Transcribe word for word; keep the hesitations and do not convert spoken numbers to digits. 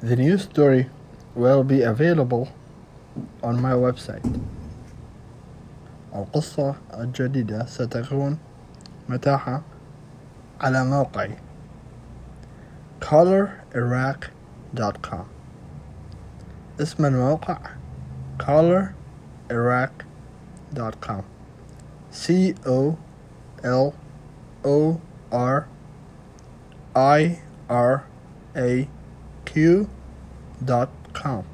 The new story will be available on my website. القصة الجديدة ستكون متاحة على موقعي color iraq dot com. اسم الموقع color iraq dot com. C O L O R I R A Q dot com.